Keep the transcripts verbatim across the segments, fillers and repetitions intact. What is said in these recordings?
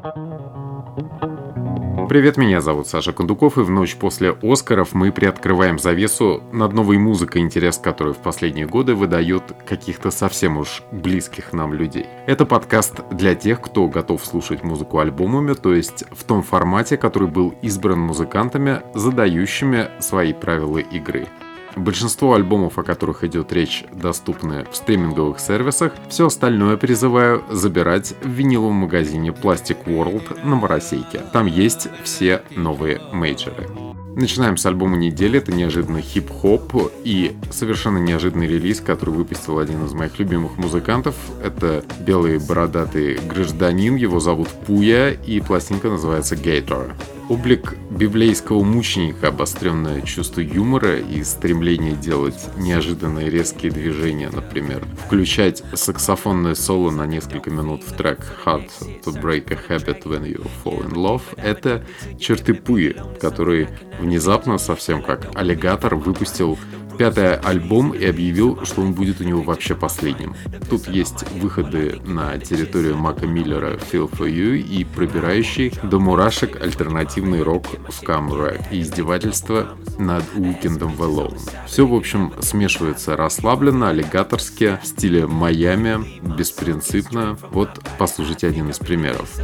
Привет, меня зовут Саша Кондуков, и в ночь после Оскаров мы приоткрываем завесу над новой музыкой, интерес которой в последние годы выдает каких-то совсем уж близких нам людей. Это подкаст для тех, кто готов слушать музыку альбомами, то есть в том формате, который был избран музыкантами, задающими свои правила игры. Большинство альбомов, о которых идет речь, доступны в стриминговых сервисах. Все остальное призываю забирать в виниловом магазине Plastic World на Моросейке. Там есть все новые мейджоры. Начинаем с альбома недели. Это неожиданный хип-хоп и совершенно неожиданный релиз, который выпустил один из моих любимых музыкантов. Это белый бородатый гражданин, его зовут Пуя, и пластинка называется Gator. Облик библейского мученика, обостренное чувство юмора и стремление делать неожиданные резкие движения, например, включать саксофонное соло на несколько минут в трек Hard to Break a Habit When You Fall in Love — это черты Пуи, который внезапно, совсем как аллигатор, выпустил пятый альбом и объявил, что он будет у него вообще последним. Тут есть выходы на территорию Мака Миллера Feel For You и пробирающий до мурашек альтернативный рок в Камера и издевательство над Уикендом в Alone. Все, в общем, смешивается расслабленно, аллигаторски, в стиле Майами, беспринципно. Вот, послушайте один из примеров.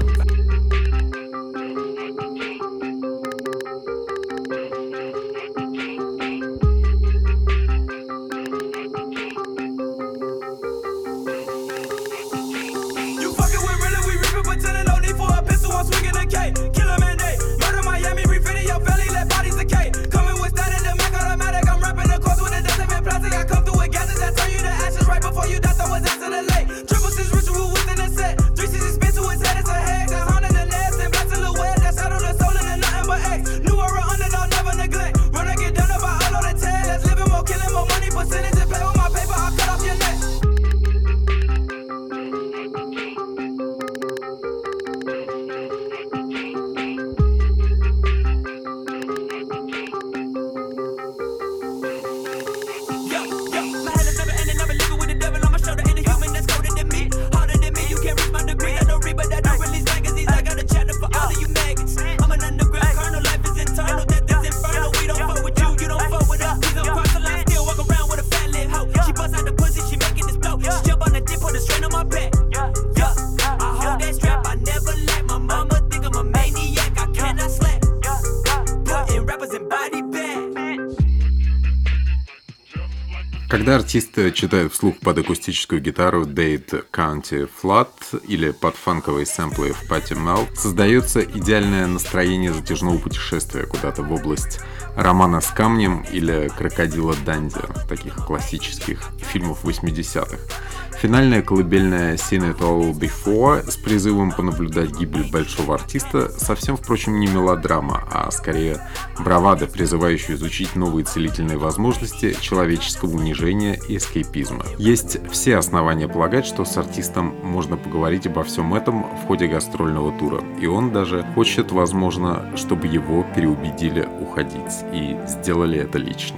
Когда артист читает вслух под акустическую гитару Dade County Flood или под фанковые сэмплы в Patti Mel, создается идеальное настроение затяжного путешествия куда-то в область романа с камнем или крокодила Данди, таких классических фильмов восьмидесятых. Финальная колыбельная Seen It All Before с призывом понаблюдать гибель большого артиста совсем, впрочем, не мелодрама, а скорее бравада, призывающая изучить новые целительные возможности человеческого унижения и эскейпизма. Есть все основания полагать, что с артистом можно поговорить обо всем этом в ходе гастрольного тура, и он даже хочет, возможно, чтобы его переубедили уходить, и сделали это лично.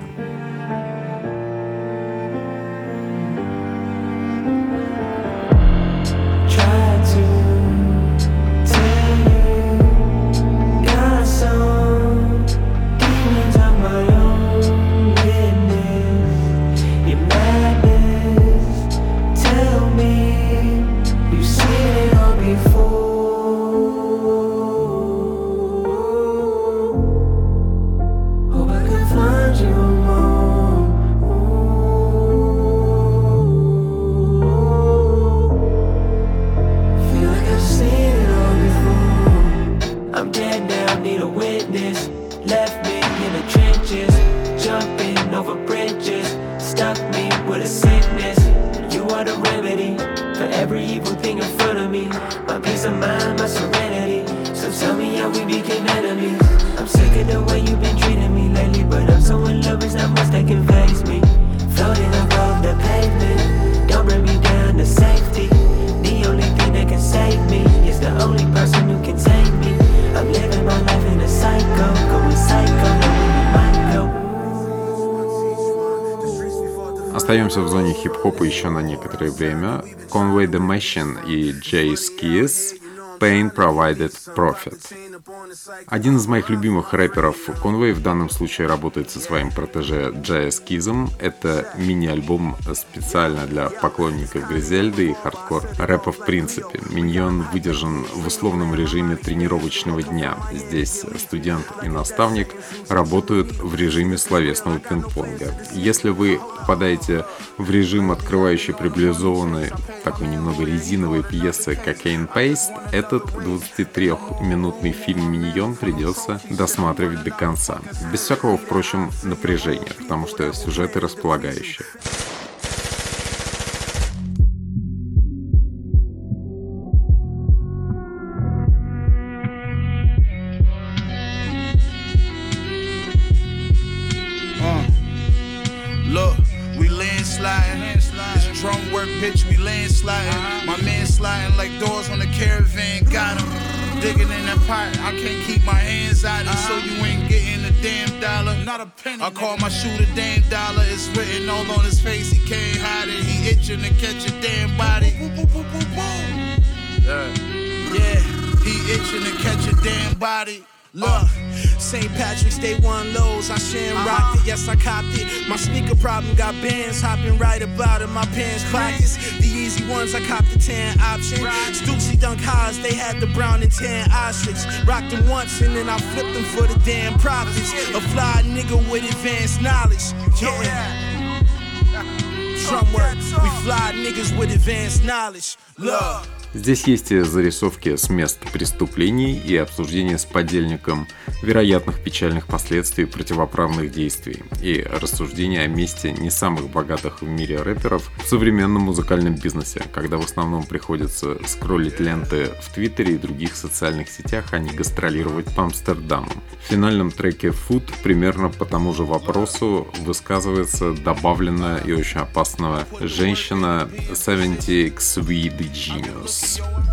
Остаемся в зоне хип-хопа еще на некоторое время. Conway the Machine и Jay Skis Pain Provided Profit. Один из моих любимых рэперов Conway в данном случае работает со своим протеже Jay Skizm. Это мини-альбом специально для поклонников Гризельды и хардкор рэпа в принципе. Миньон выдержан в условном режиме тренировочного дня. Здесь студент и наставник работают в режиме словесного пинг-понга. Если вы попадаете в режим, открывающий приблизованный, такой немного резиновой пьесы Cocaine Paste, этот двадцатитрёхминутный фильм «Миньон» придется досматривать до конца. Без всякого, впрочем, напряжения, потому что сюжеты располагающие. Drum work, bitch, we landsliding. My man sliding like doors on a caravan. Got him digging in that pot. I can't keep my hands out it, so you ain't getting a damn dollar. Not a penny. I call my shooter damn dollar. It's written all on his face. He can't hide it. He itching to catch a damn body. Yeah, yeah. He itching to catch a damn body. Look, Saint Patrick's Day one lows, I shin uh-huh. rocked it, yes I copped it. My sneaker problem got bands hopping right about in my pants pockets. The easy ones, I copped the tan option. Right. Stussy Dunk Highs, they had the brown and tan ostrich. Rocked them once and then I flipped them for the damn profits. A fly nigga with advanced knowledge. Yeah. Drum work, we fly niggas with advanced knowledge. Look. Здесь есть зарисовки с мест преступлений и обсуждение с подельником вероятных печальных последствий противоправных действий и рассуждения о месте не самых богатых в мире рэперов в современном музыкальном бизнесе, когда в основном приходится скроллить ленты в Твиттере и других социальных сетях, а не гастролировать по Амстердаму. В финальном треке Food примерно по тому же вопросу высказывается добавленная и очень опасная женщина семьдесят икс ви The Genius.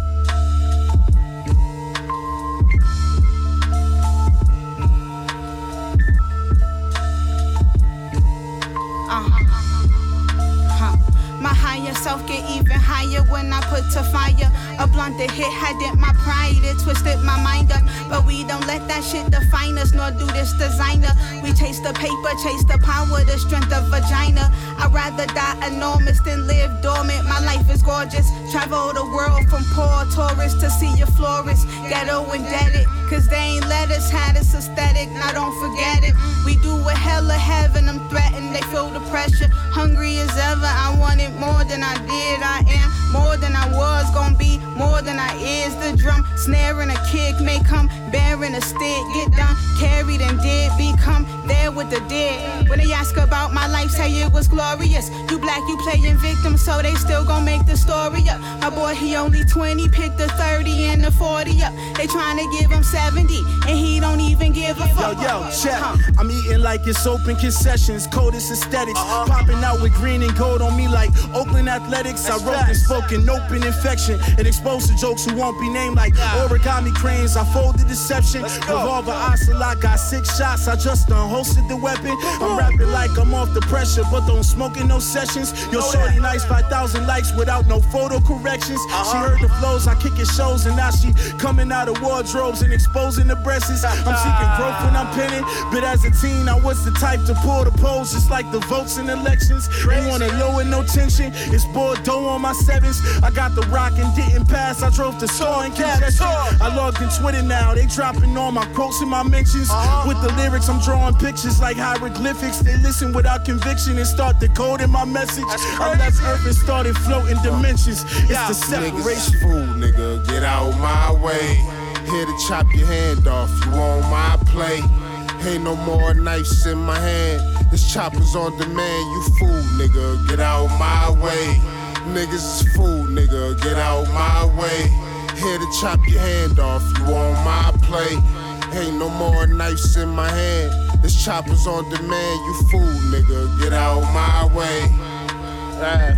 Self get even higher when I put to fire. A blunt that hit had it my pride, it twisted my mind up. But we don't let that shit define us, nor do this designer. We chase the paper, chase the power, the strength of vagina. I'd rather die enormous than live dormant. My life is gorgeous. Travel the world from poor tourists to see your florist. Ghetto indebted, cause they ain't let us have this aesthetic. Now don't forget it. We do what hella heaven, I'm threatened, they feel the pressure. Hungry as ever, I wanted more than I did. I am more than I was, gonna be more than I is. The drum, snare and a kick may come, bearing a stick. Get done, carried and did become there with the dead. When they ask about my life, say it was glorious. You black, you playing victim, so they still gon' make the story up. My boy, he only twenty, picked the thirty and the forty up. They tryna give him seventy, and he don't even give a fuck. Yo, yo, check. Huh. I'm eating like it's open concessions, coldest aesthetics. Uh-huh. Popping out with green and gold on me like Oakland Athletics. That's I wrote and spoken, open infection. It exposed to jokes who won't be named like yeah. origami cranes. I folded deception. Revolver Ocelot got six shots. I just unholstered the weapon. I'm rapping like I'm off the pressure, but don't smoke in no sessions. Yo, shorty nice, five thousand likes without no photo corrections. Uh-huh. She heard the flows, I kick it shows, and now she coming out of wardrobes and exposing the breasts. I'm seeking growth when I'm pinning, but as a teen, I was the type to pull the polls, just like the votes in elections. Ain't wanna lower no tension. It's Bordeaux on my sevens. I got the rock and didn't pass. I drove to store and congestion. I logged in Twitter now. They dropping all my quotes and my mentions. Uh-huh. With the lyrics, I'm drawing pictures like hieroglyphics. They listen without conviction and start decoding my message. I left Earth and started floating dimensions. It's yeah. the separation. Fool, nigga, get out my way. Here to chop your hand off. You on my plate. Ain't no more knives in my hand. This chopper's on demand. You fool, nigga, get out my way. Niggas is fool, nigga, get out my way. Here to chop your hand off. You on my plate. Ain't no more knives in my hand. This chopper's on demand. You fool, nigga, get out my way. Ah.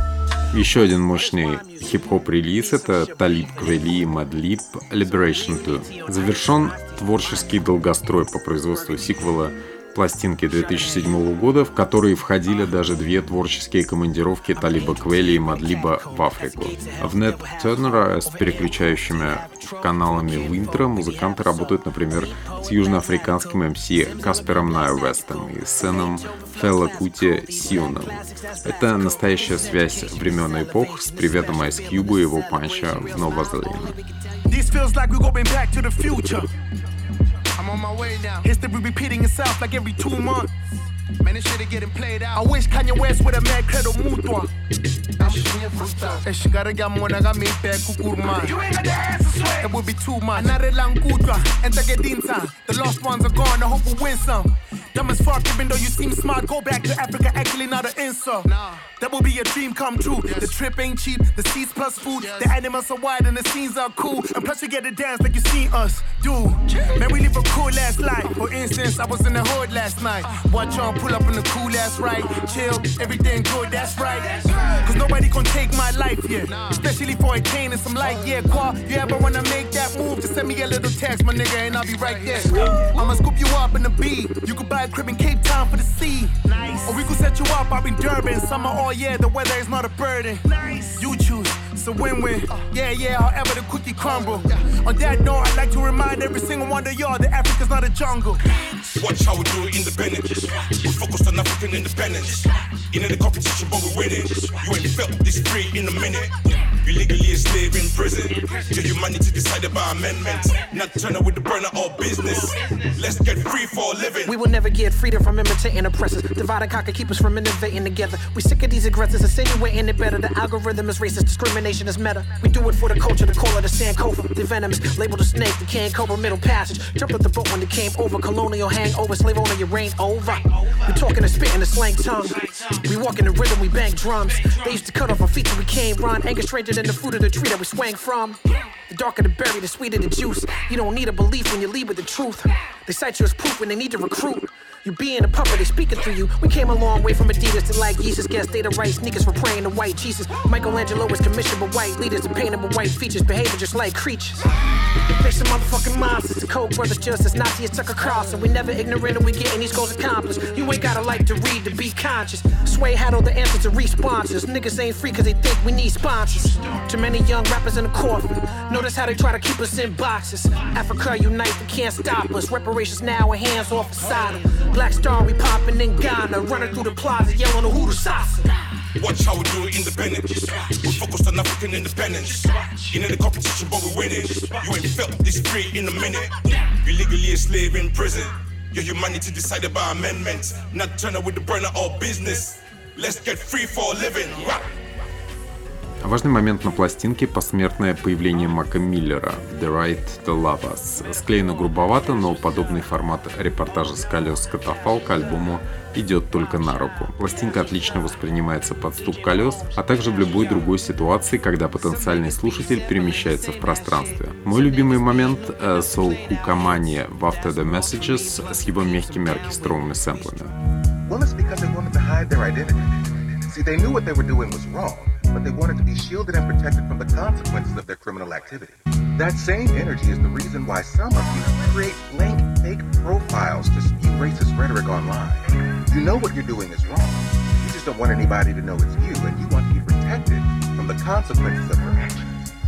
Еще один мощный хип-хоп релиз — это Талиб Квели и Madlib Liberation два. Завершен творческий долгострой по производству сиквела пластинки две тысячи седьмого года, в которые входили даже две творческие командировки Талиба Квели и Мадлиба в Африку. В Нет Тернера с переключающими каналами Винтера музыканты работают, например, с южноафриканским эм си Каспером Найвестом и Сеном Фела Кути Сионом. Это настоящая связь времен и эпох с приветом Ice Cube и его панча в Новозеландии. I'm on my way now. History repeating itself like every two months. Man, this shit is getting played out. I wish Kanye West would have made credo mutua. Eshigara gamona ga me pe kukurma. You ain't got the answer, swear. It would be too much. Another langudra, and gedinta. The lost ones are gone, I hope we win some. Dumb as fuck, even though you seem smart. Go back to Africa, actually not an insult. Nah. That will be a dream come true. Yes. The trip ain't cheap, the seats plus food. Yes. The animals are wide and the scenes are cool. And plus you get to dance like you seen us do. Man, we live a cool ass life. For instance, I was in the hood last night. Watch y'all pull up in the cool ass right. Chill, everything good, that's right. Cause nobody gon' take my life, yeah. Especially for a cane and some light, yeah. Qua, you ever wanna make that move? Just send me a little text, my nigga, and I'll be right there. I'ma scoop you up in the B. You could buy a crib in Cape Town for the sea. Nice. Or we could set you up up in Durban. Summer all year, the weather is not a burden. Nice. You choose, it's a win-win. Yeah, yeah, however the cookie crumble. On that note, I'd like to remind every single one of y'all that Africa's not a jungle. Watch how we do it independent. We focused on African independence. In the competition, but we're winning. You ain't felt this free in a minute. You legally a slave in prison. Your humanity decided by amendments. Not turn up with the burner or business. Let's get free for a living. We will never get freedom from imitating oppressors. Divide and conquer, keep us from innovating together. We sick of these aggressors, insinuating it better. The algorithm is racist, discrimination is meta. We do it for the culture, the call of the Sankofa. The venomous, labeled a snake, the King Cobra, middle passage. Jumped off the boat when it came over. Colonial hangover, slave owner, your reign over. We talking and spitting the slang tongue. We walk in the rhythm, we bang drums. They used to cut off our feet so we can't run. Anger stranger than the fruit of the tree that we swang from. The darker the berry, the sweeter the juice. You don't need a belief when you lead with the truth. They cite you as proof when they need to recruit. You being a puppet, they speaking through you. We came a long way from Adidas to like Jesus. Guess they the right sneakers for praying to white Jesus. Michelangelo was commissioned by white leaders and painted with white features, behaving just like creatures. They some motherfucking monsters. The Koch brothers just as Nazi as Tucker Carlson. We never ignorant and we getting these goals accomplished. You ain't gotta like to read to be conscious. Sway had all the answers to re-sponsors. Niggas ain't free cause they think we need sponsors. Too many young rappers in the coffin. Notice how they try to keep us in boxes. Africa unite, they can't stop us. Reparations now with hands off the side. Black Star, we poppin' in Ghana. Running through the plaza, yelling the Hoodoo Sasa. Watch how we do it independent. We focused on African independence. In the competition, but we're winning. You ain't felt this free in a minute. You legally a slave in prison. Your humanity decided by amendments. Not turn up with the burner or business. Let's get free for a living. Rap. Важный момент на пластинке — посмертное появление Мака Миллера «The Right to Love Us». Склеено грубовато, но подобный формат репортажа с колес катафалка альбому идет только на руку. Пластинка отлично воспринимается под стук колес, а также в любой другой ситуации, когда потенциальный слушатель перемещается в пространстве. Мой любимый момент — Soul Hook-мания в After the Messages с его мягкими оркестровыми сэмплами. Well, it's because they wanted to hide their identity. See, they knew what they were doing was wrong, but they wanted to be shielded and protected from the consequences of their criminal activity. That same energy is the reason why some of you create blank, fake profiles to spew racist rhetoric online. You know what you're doing is wrong. You just don't want anybody to know it's you, and you want to be protected from the consequences of your actions.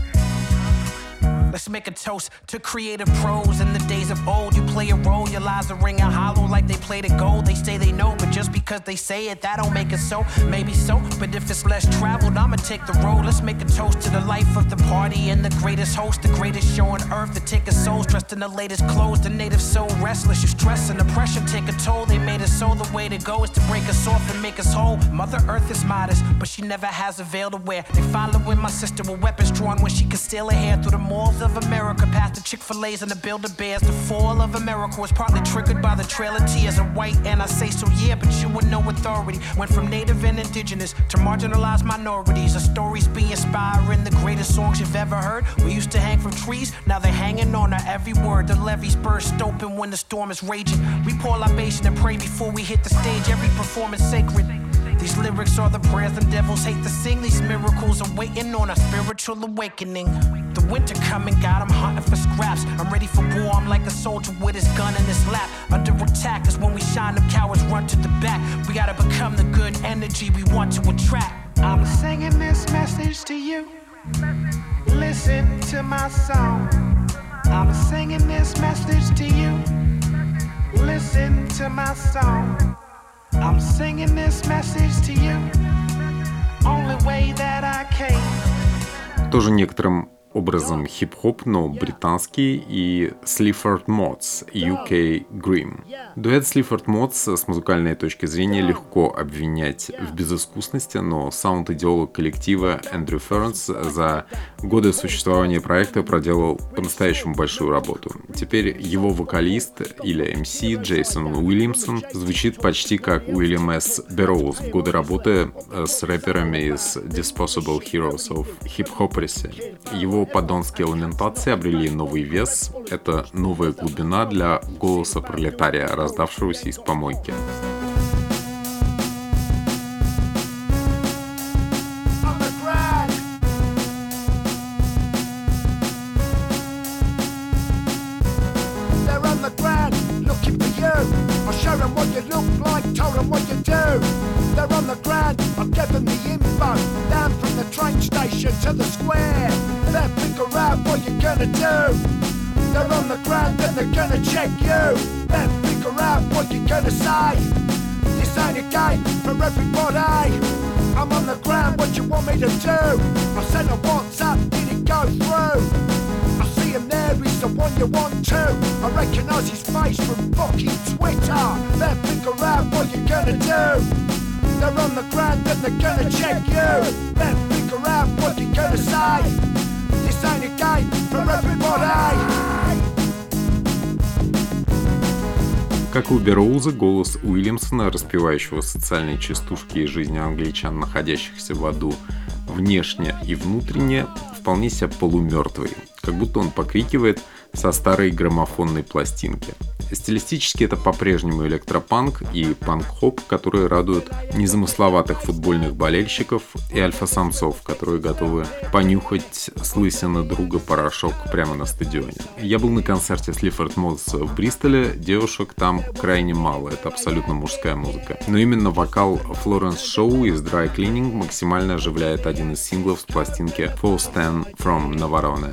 Let's make a toast to creative pros. In the days of old, you play a role, your lies are ringing hollow like they played it gold. They say they know, but just because they say it, that don't make it so. Maybe so, but if it's less traveled, I'ma take the road. Let's make a toast to the life of the party and the greatest host, the greatest show on earth. The ticket souls dressed in the latest clothes. The native so restless, your stress and oppression take a toll. They made us so, the way to go is to break us off and make us whole. Mother Earth is modest, but she never has a veil to wear. They following my sister with weapons drawn when she could steal her hair through the malls of America, past the Chick-fil-A's and the Build-A-Bears. The fall of America was partly triggered by the Trail of Tears. I'm white and I say so, yeah, but you with no authority. Went from native and indigenous to marginalized minorities. The stories be inspiring, the greatest songs you've ever heard. We used to hang from trees, now they're hanging on our every word. The levees burst open when the storm is raging. We pour libation and pray before we hit the stage. Every performance sacred. These lyrics are the prayers them devils hate to sing. These miracles are waiting on a spiritual awakening. The winter coming, God, I'm hunting for scraps. I'm ready for war, I'm like a soldier with his gun in his lap. Under attack is when we shine, them cowards run to the back. We gotta become the good energy we want to attract. I'm singing this message to you. Listen to my song. I'm singing this message to you. Listen to my song. I'm singing this message to you. Only way that I can. Тоже некоторым образом хип-хоп, но британский, и Sleaford Mods, ю кей Grim. Дуэт Sleaford Mods с музыкальной точки зрения легко обвинять в безыскусности, но саунд-идеолог коллектива Эндрю Фернс за годы существования проекта проделал по-настоящему большую работу. Теперь его вокалист или эм си Джейсон Уильямсон звучит почти как Уильям С. Берроуз в годы работы с рэперами из Disposable Heroes of Hip-Hoperacy. Его подонские ламентации обрели новый вес. Это новая глубина для голоса пролетария, раздавшегося из помойки. They're on the ground, I've given the info. Down from the train station to the square. They'll figure out what you're gonna do. They're on the ground and they're gonna check you. They'll figure out what you're gonna say. This ain't a game for everybody. I'm on the ground, what you want me to do? I sent a WhatsApp, did it go through? I see him there, he's the one you want to. I recognise his face from fucking Twitter. They'll figure out what you're gonna do. They're on the ground and they're gonna check you. They'll figure out what you're gonna say. This ain't a game for everybody. Как у Берроуза, голос Уильямсона, распевающего социальные частушки из жизни англичан, находящихся в аду, внешне и внутренне, вполне себе полумертвый, как будто он покрикивает со старой граммофонной пластинки. Стилистически это по-прежнему электропанк и панк-хоп, которые радуют незамысловатых футбольных болельщиков и альфа-самцов, которые готовы понюхать с лысины друга порошок прямо на стадионе. Я был на концерте Sleaford Mods в Бристоле, девушек там крайне мало, это абсолютно мужская музыка. Но именно вокал Флоренс Шоу из Dry Cleaning максимально оживляет один из синглов с пластинки False Ten from Navarone.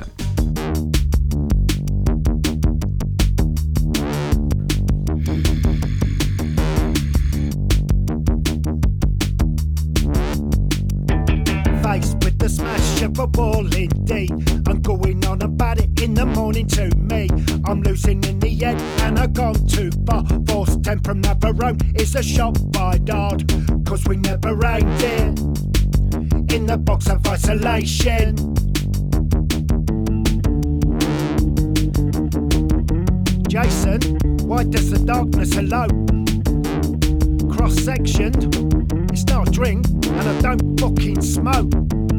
A ball indeed. I'm going on about it in the morning to me. I'm losing in the head and I've gone too far. Force ten from Navarone is a shot by Dodd. Cause we never aimed it in the box of isolation. Jason, why does the darkness elope? Cross-sectioned, it's not a drink and I don't fucking smoke.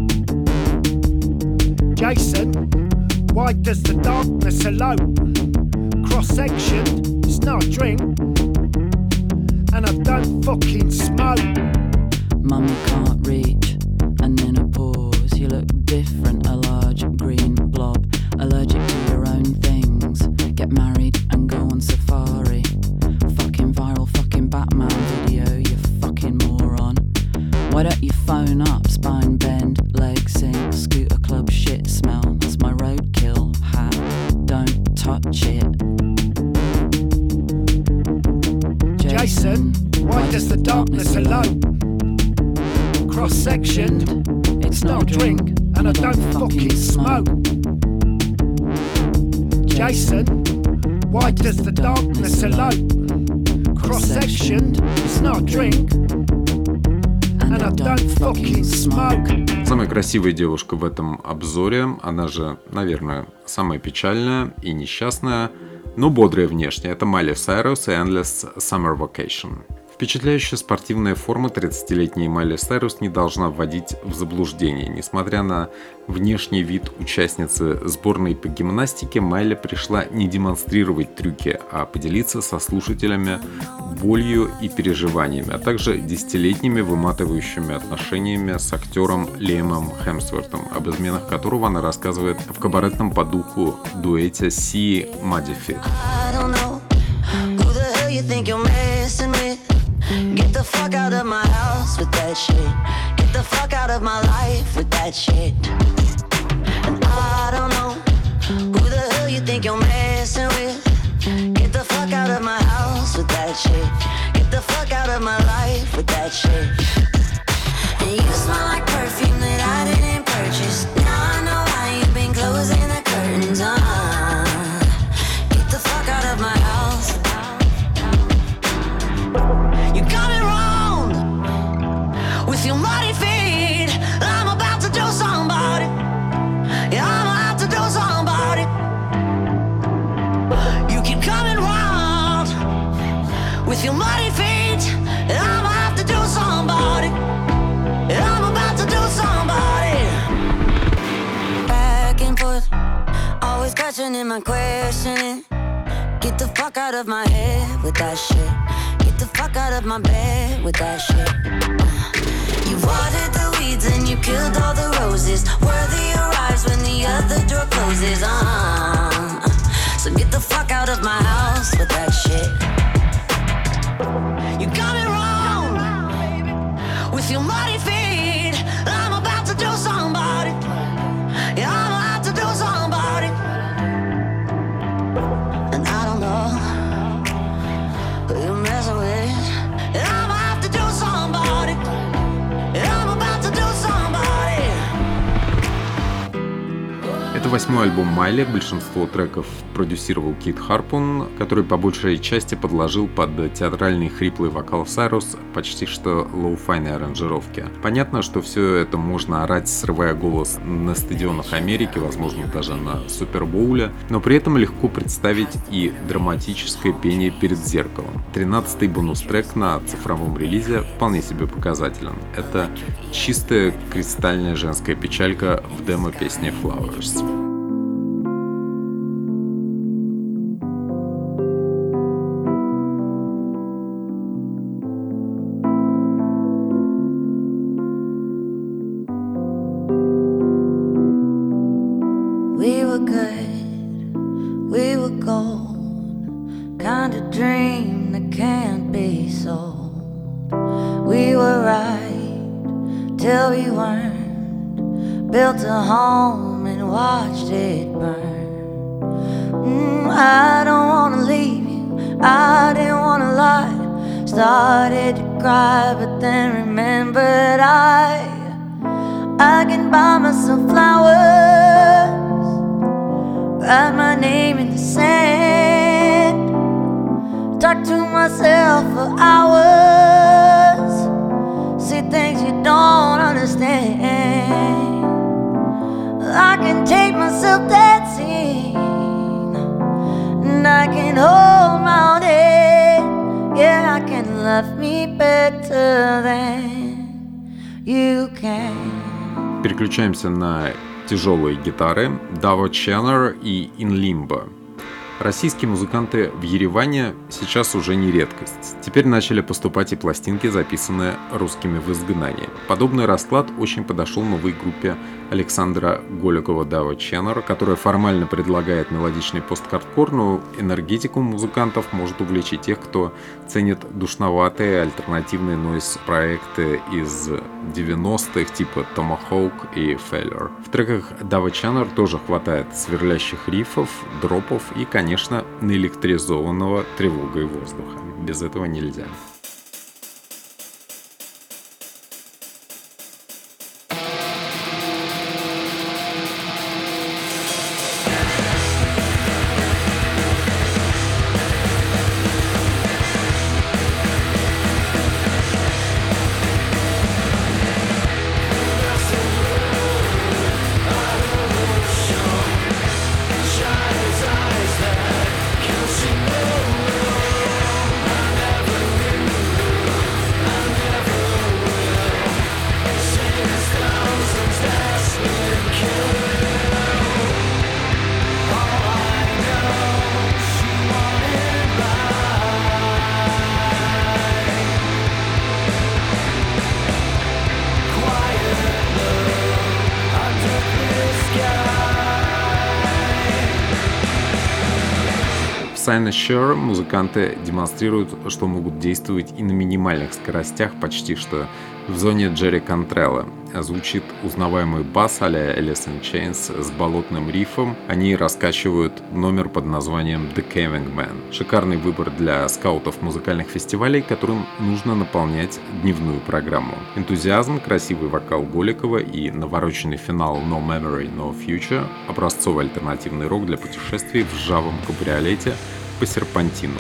Jason, why does the darkness elope? Cross-sectioned, it's not a drink, and I don't fucking smoke. Mum, you can't reach, and then a pause. You look different, a large green blob. Allergic to your own things. Get married and go on safari. Fucking viral, fucking Batman video, you fucking moron. Why don't you phone up, spine bend, leg sink, scooter club shit smell. That's my roadkill hat. Don't touch it. Jason, why does the darkness elope? Cross-sectioned, it's not a drink, and I don't fucking smoke. Jason, why does the darkness elope? Cross-sectioned, it's not a drink, and I don't fucking smoke. Самая красивая девушка в этом обзоре, она же, наверное, самая печальная и несчастная, но бодрая внешне. Это Майли Сайрус и Endless Summer Vacation. Впечатляющая спортивная форма тридцатилетней Майли Сайрус не должна вводить в заблуждение. Несмотря на внешний вид участницы сборной по гимнастике, Майли пришла не демонстрировать трюки, а поделиться со слушателями болью и переживаниями, а также десятилетними выматывающими отношениями с актером Лиэмом Хемсвортом, об изменах которого она рассказывает в кабаретном по духу дуэте Си Мадифи. Get the fuck out of my house with that shit. Get the fuck out of my life with that shit. And I don't know who the hell you think you're messing with. Get the fuck out of my house with that shit. Get the fuck out of my life with that shit. And you smell like perfume that I didn't purchase. Now I know why you've been closing the curtains. Uh, get the fuck out of my house. You got it wrong with your muddy feet. I'm about to do somebody. Yeah, I'm about to do somebody. You keep coming round with your muddy feet. I'm about to do somebody. Yeah, I'm about to do somebody. Back and forth, always questioning my questioning. Get the fuck out of my head with that shit. Get the fuck out of my bed with that shit. You watered the weeds and you killed all the roses. Worthy arrives when the other door closes. Uh, so get the fuck out of my house with that shit. You got me wrong with your muddy feet. I'm about to do somebody. Yeah, I'm about to do somebody. And I don't know who you messing with. And I'm about to do somebody. And I'm about to do somebody. Это восьмой альбом Майли, большинство треков продюсировал Кит Харпун, который по большей части подложил под театральный хриплый вокал Сайрус почти что лоу-файные аранжировки. Понятно, что все это можно орать, срывая голос на стадионах Америки, возможно даже на Супербоуле, но при этом легко представить и драматическое пение перед зеркалом. тринадцатый бонус-трек на цифровом релизе вполне себе показателен. Это чистая кристальная женская печалька в демо-песне Flowers. We were good, we were gold, kind of dream that can't be sold. We were right till we weren't, built a home and watched it burn. Mm, I don't wanna leave you, I didn't wanna lie. Started to cry but then remembered I I can buy myself flowers, write my name in the sand, talk to myself for hours, see things you don't understand. I can take myself dancing, and I can hold my own head. Yeah, I can love me better than you can. Переключаемся на тяжелые гитары Davo Chenner и In Limbo. Российские музыканты в Ереване сейчас уже не редкость. Теперь начали поступать и пластинки, записанные русскими в изгнании. Подобный расклад очень подошел новой группе Александра Голикова Davo Chenner, которая формально предлагает мелодичный посткардкор, но энергетику музыкантов может увлечь и тех, кто ценит душноватые альтернативные нойз-проекты из девяностых типа Tomahawk и Failure. В треках Davo Chenner тоже хватает сверлящих рифов, дропов и, конечно, Конечно, наэлектризованного тревогой воздуха. Без этого нельзя. Never Sign Assure музыканты демонстрируют, что могут действовать и на минимальных скоростях, почти что в зоне Джерри Кантрелла. Звучит узнаваемый бас а-ля Alice in Chains с болотным рифом. Они раскачивают номер под названием The Caving Man. Шикарный выбор для скаутов музыкальных фестивалей, которым нужно наполнять дневную программу. Энтузиазм, красивый вокал Голикова и навороченный финал No Memory, No Future — образцовый альтернативный рок для путешествий в ржавом кабриолете по серпантину.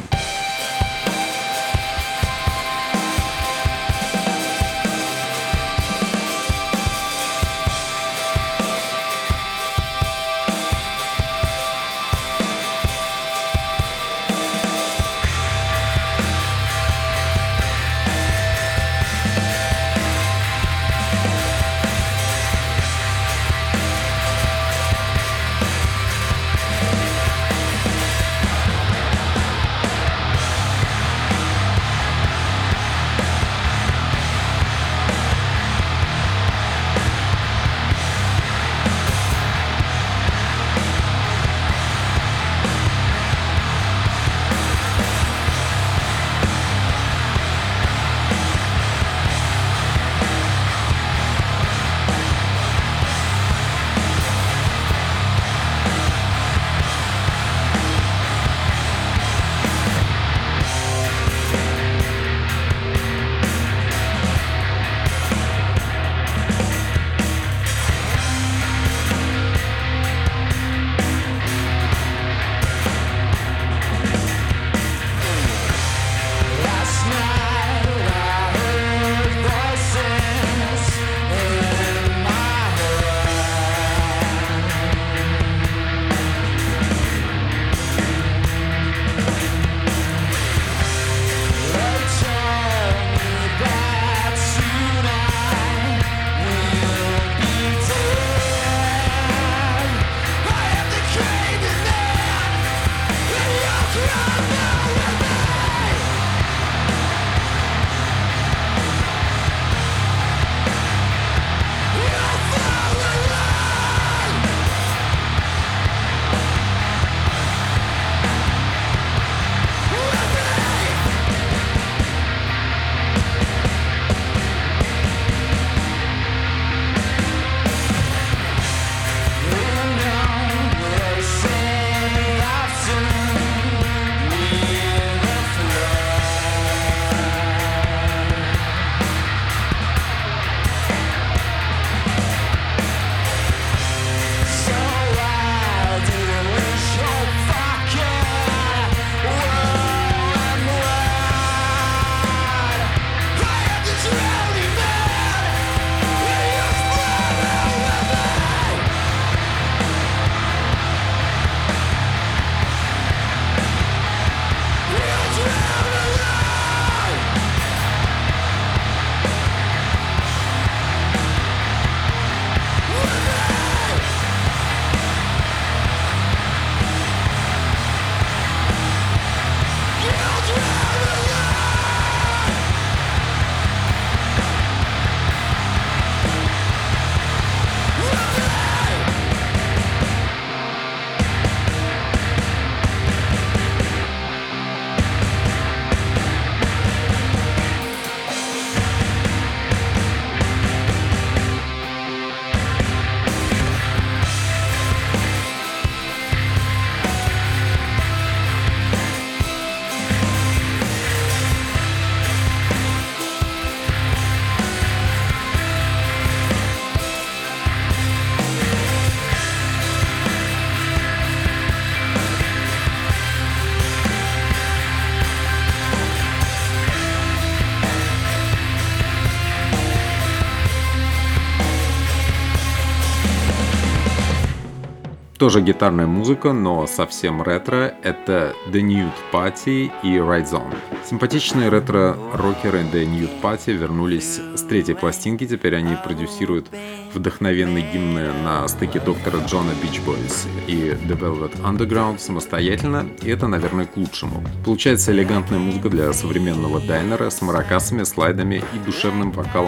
Тоже гитарная музыка, но совсем ретро. Это The Nude Party и Right Zone. Симпатичные ретро-рокеры The Nude Party вернулись с третьей пластинки. Теперь они продюсируют вдохновенные гимны на стыке доктора Джона Beach Boys и The Velvet Underground самостоятельно, и это, наверное, к лучшему. Получается элегантная музыка для современного дайнера с маракасами, слайдами и душевным вокалом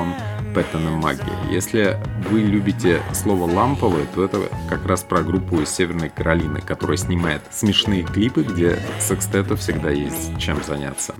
Пэттона Магги. Если вы любите слово «ламповый», то это как раз про группу из Северной Каролины, которая снимает смешные клипы, где секстету всегда есть чем заняться.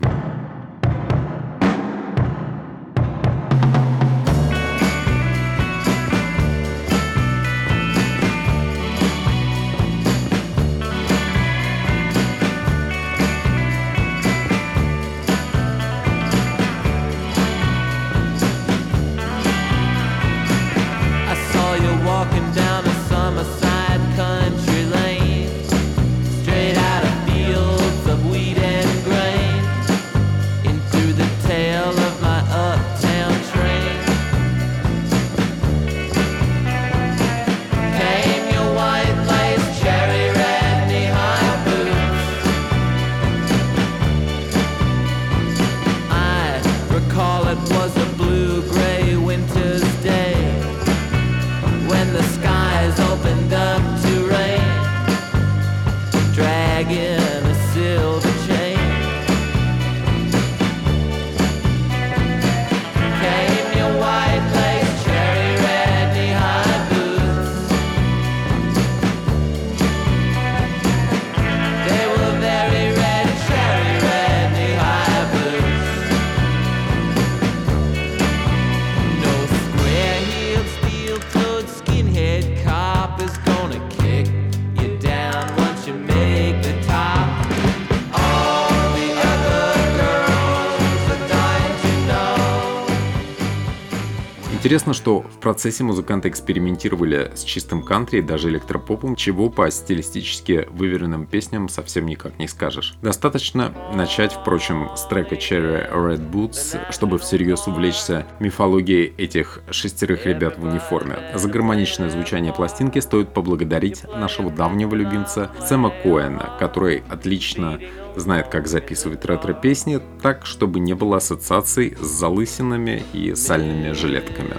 Интересно, что в процессе музыканты экспериментировали с чистым кантри и даже электропопом, чего по стилистически выверенным песням совсем никак не скажешь. Достаточно начать, впрочем, с трека Cherry Red Boots, чтобы всерьез увлечься мифологией этих шестерых ребят в униформе. За гармоничное звучание пластинки стоит поблагодарить нашего давнего любимца Сэма Коэна, который отлично знает, как записывать ретро-песни так, чтобы не было ассоциаций с залысинами и сальными жилетками.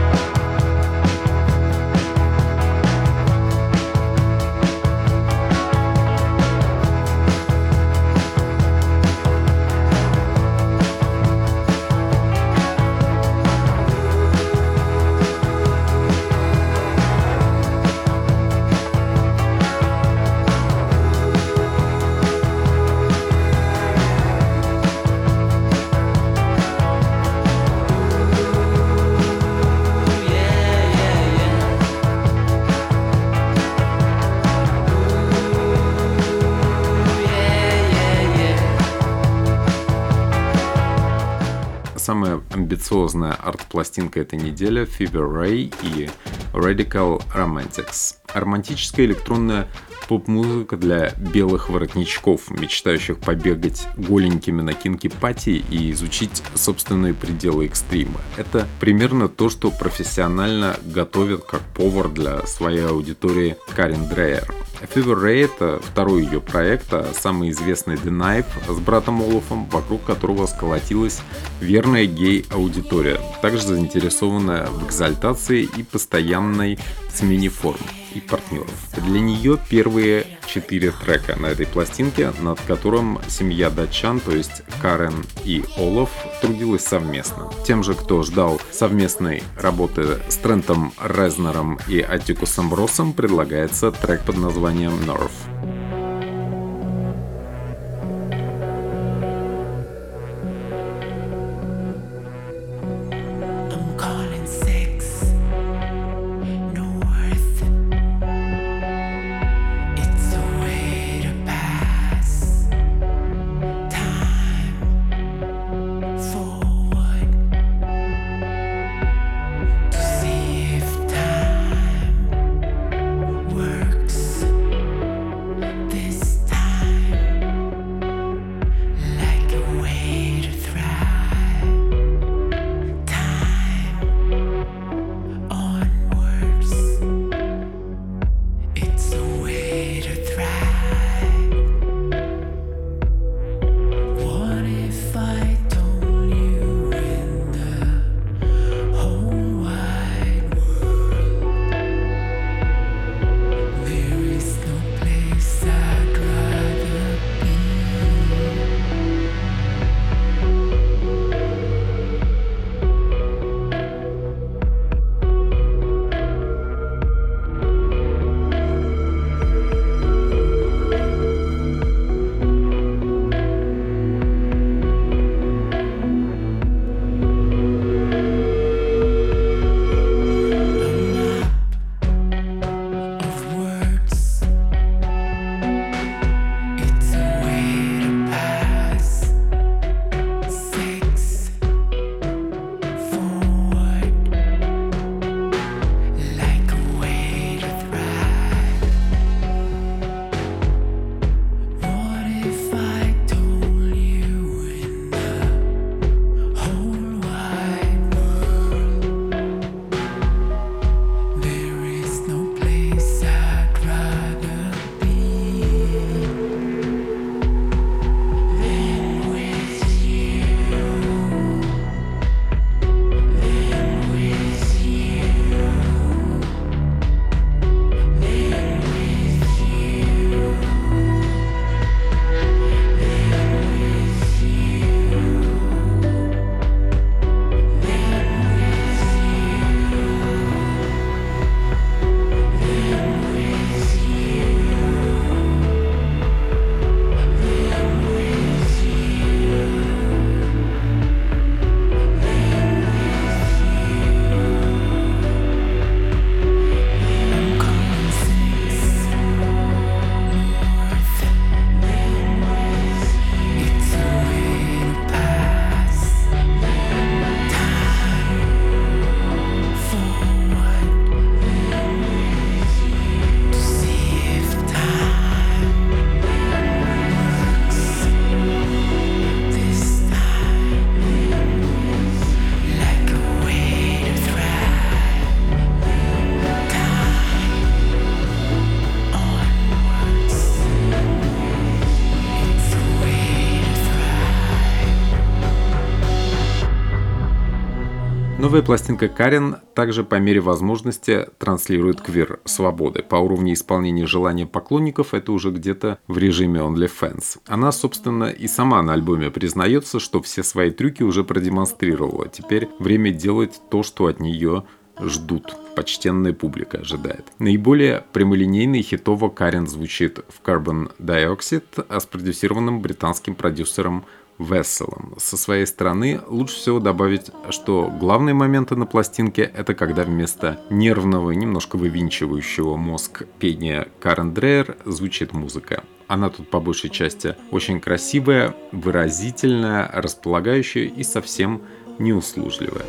Самая амбициозная арт-пластинка этой недели — Fever Ray и Radical Romantics. Романтическая электронная поп-музыка для белых воротничков, мечтающих побегать голенькими на кинки-пати и изучить собственные пределы экстрима. Это примерно то, что профессионально готовит как повар для своей аудитории Карен Дрейер. Fever Ray — это второй ее проект, а самый известный The Knife с братом Олафом, вокруг которого сколотилась верная гей-аудитория, также заинтересованная в экзальтации и постоянной смене форм и партнеров. Для нее первые четыре трека на этой пластинке, над которым семья датчан, то есть Карен и Олаф, трудилась совместно. Тем же, кто ждал совместной работы с Трентом Резнором и Аттикусом Россом, предлагается трек под названием North. Новая пластинка Карен также по мере возможности транслирует квир-свободы. По уровню исполнения желания поклонников это уже где-то в режиме OnlyFans. Она, собственно, и сама на альбоме признается, что все свои трюки уже продемонстрировала. Теперь время делать то, что от нее ждут. Почтенная публика ожидает. Наиболее прямолинейный хитово Карен звучит в Carbon Dioxide, а спродюсированным британским продюсером Весселом. Со своей стороны лучше всего добавить, что главные моменты на пластинке — это когда вместо нервного, немножко вывинчивающего мозг пения Карен Дрейер звучит музыка. Она тут по большей части очень красивая, выразительная, располагающая и совсем неуслужливая.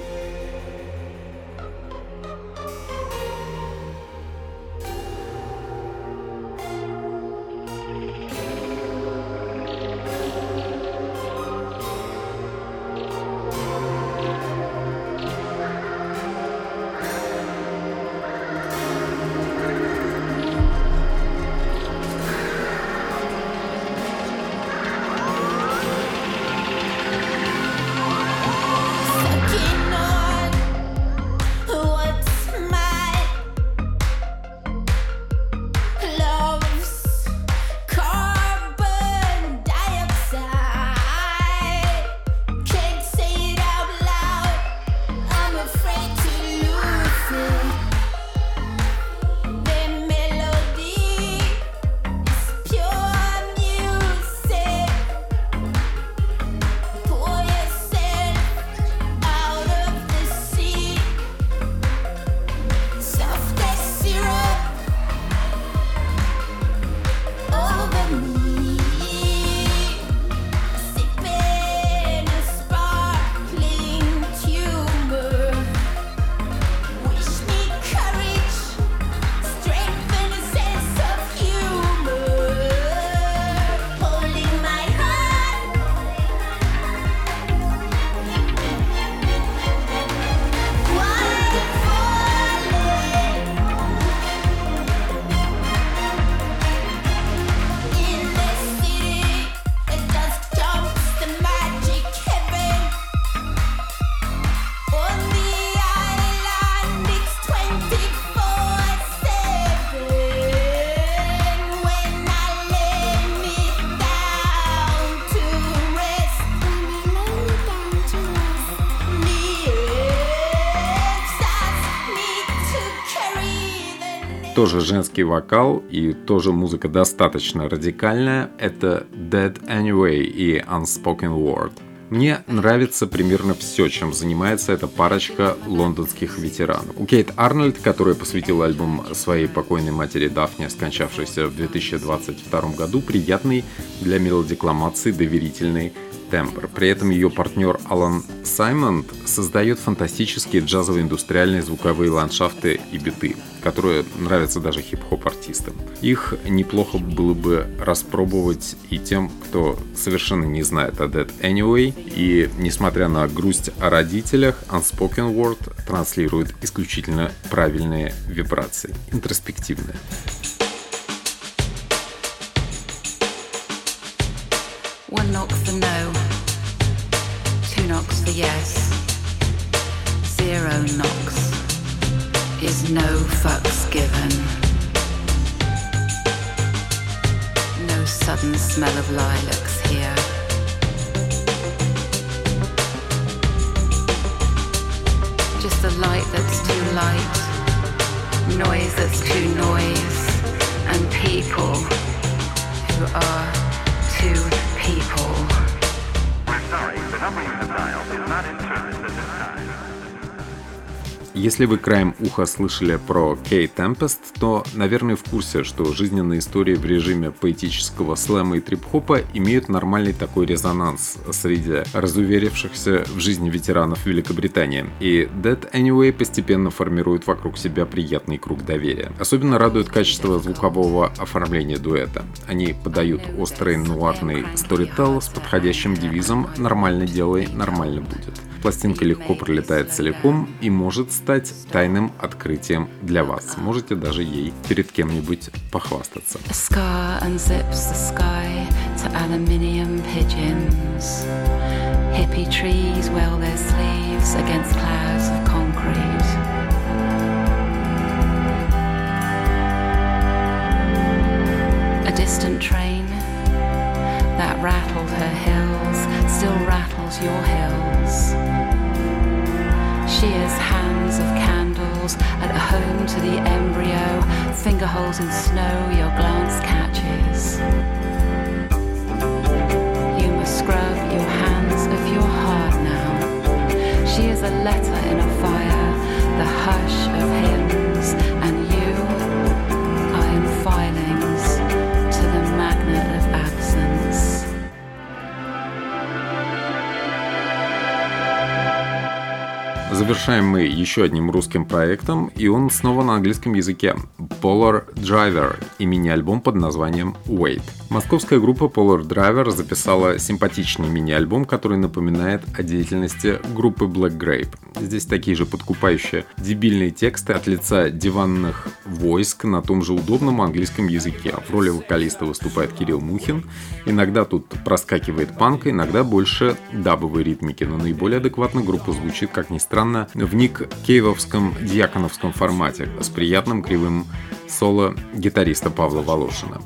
Тоже женский вокал и тоже музыка достаточно радикальная. Это Dead Anyway и Unspoken Word. Мне нравится примерно все, чем занимается эта парочка лондонских ветеранов. У Кейт Арнольд, которая посвятила альбом своей покойной матери Дафне, скончавшейся в две тысячи двадцать втором году, приятный для мелодикламации доверительный тембр. При этом ее партнер Алан Саймонд создает фантастические джазово-индустриальные звуковые ландшафты и биты, которые нравятся даже хип-хоп-артистам. Их неплохо было бы распробовать и тем, кто совершенно не знает о Dead Anyway, и, несмотря на грусть о родителях, Unspoken Word транслирует исключительно правильные вибрации, интроспективные. One knock for no, two knocks for yes, zero knocks is no fucks given. No sudden smell of lilacs here. Just a light that's too light, noise that's too noise, and people who are too people. We're sorry, the number you have dialed is not in service at this time. Если вы краем уха слышали про Кей Темпест, то, наверное, в курсе, что жизненные истории в режиме поэтического слэма и трип-хопа имеют нормальный такой резонанс среди разуверившихся в жизни ветеранов Великобритании. И Dead Anyway постепенно формирует вокруг себя приятный круг доверия. Особенно радует качество звукового оформления дуэта. Они подают острый нуарный сторителл с подходящим девизом «Нормально делай, нормально будет». Пластинка легко пролетает целиком и может стать тайным открытием для вас. Можете даже ей перед кем-нибудь похвастаться. Hippie trees wail their sleeves against clouds of A distant train that rattled her hills still rattles your hills. She is hands of candles at home to the embryo, finger holes in snow your glance catches. You must scrub your hands of your heart now. She is a letter in a fire, the hush of hymns, and you are in filings to the magnet of absence. Завершаем мы еще одним русским проектом, и он снова на английском языке. Polar Driver и мини-альбом под названием Wait. Московская группа Polar Driver записала симпатичный мини-альбом, который напоминает о деятельности группы Black Grape. Здесь такие же подкупающие дебильные тексты от лица диванных войск на том же удобном английском языке. В роли вокалиста выступает Кирилл Мухин. Иногда тут проскакивает панк, иногда больше дабовой ритмики, но наиболее адекватно группа звучит, как ни странно, в Ник Кейвовском дьяконовском формате с приятным кривым соло гитариста Павла Волошина.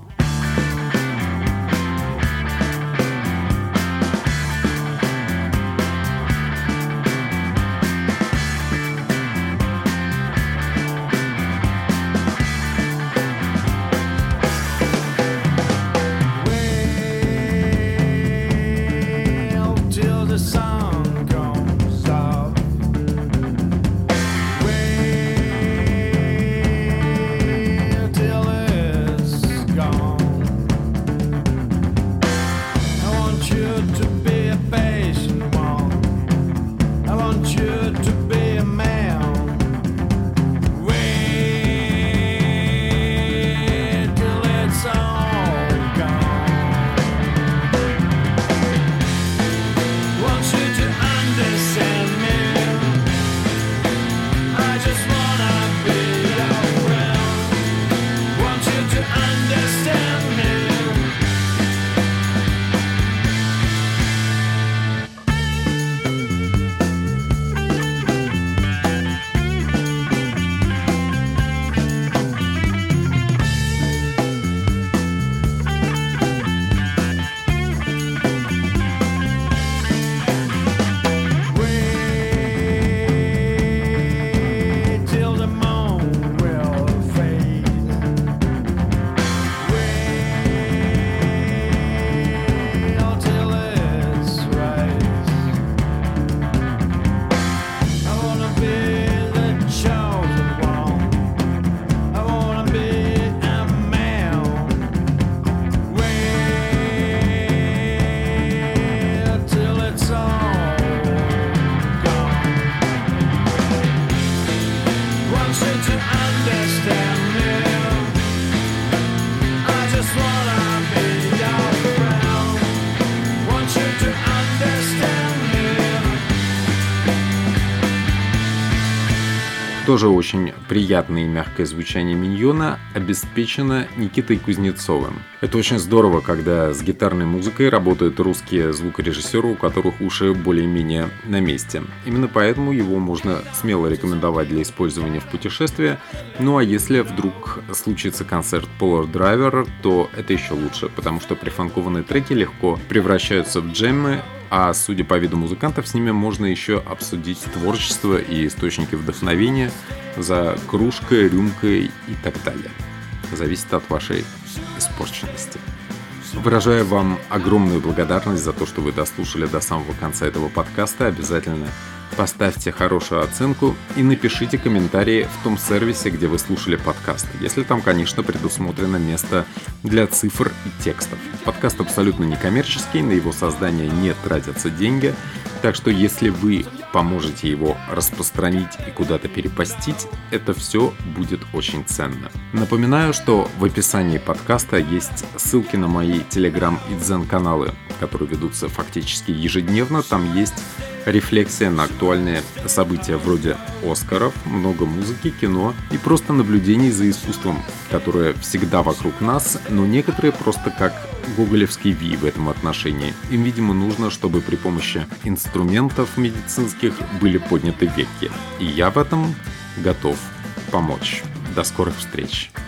Тоже очень приятное и мягкое звучание миньона обеспечено Никитой Кузнецовым. Это очень здорово, когда с гитарной музыкой работают русские звукорежиссеры, у которых уши более-менее на месте. Именно поэтому его можно смело рекомендовать для использования в путешествии. Ну а если вдруг случится концерт Polar Driver, то это еще лучше, потому что прифанкованные треки легко превращаются в джеммы, а судя по виду музыкантов, с ними можно еще обсудить творчество и источники вдохновения за кружкой, рюмкой и так далее. Зависит от вашей испорченности. Выражаю вам огромную благодарность за то, что вы дослушали до самого конца этого подкаста. Обязательно поставьте хорошую оценку и напишите комментарии в том сервисе, где вы слушали подкаст, если там, конечно, предусмотрено место для цифр и текстов. Подкаст абсолютно некоммерческий, на его создание не тратятся деньги, так что если вы поможете его распространить и куда-то перепостить, это все будет очень ценно. Напоминаю, что в описании подкаста есть ссылки на мои Telegram и Дзен каналы, которые ведутся фактически ежедневно. Там есть рефлексия на актуальные события вроде Оскаров, много музыки, кино и просто наблюдений за искусством, которое всегда вокруг нас, но некоторые просто как гоголевский Ви в этом отношении. Им, видимо, нужно, чтобы при помощи инструментов медицинских были подняты веки. И я в этом готов помочь. До скорых встреч!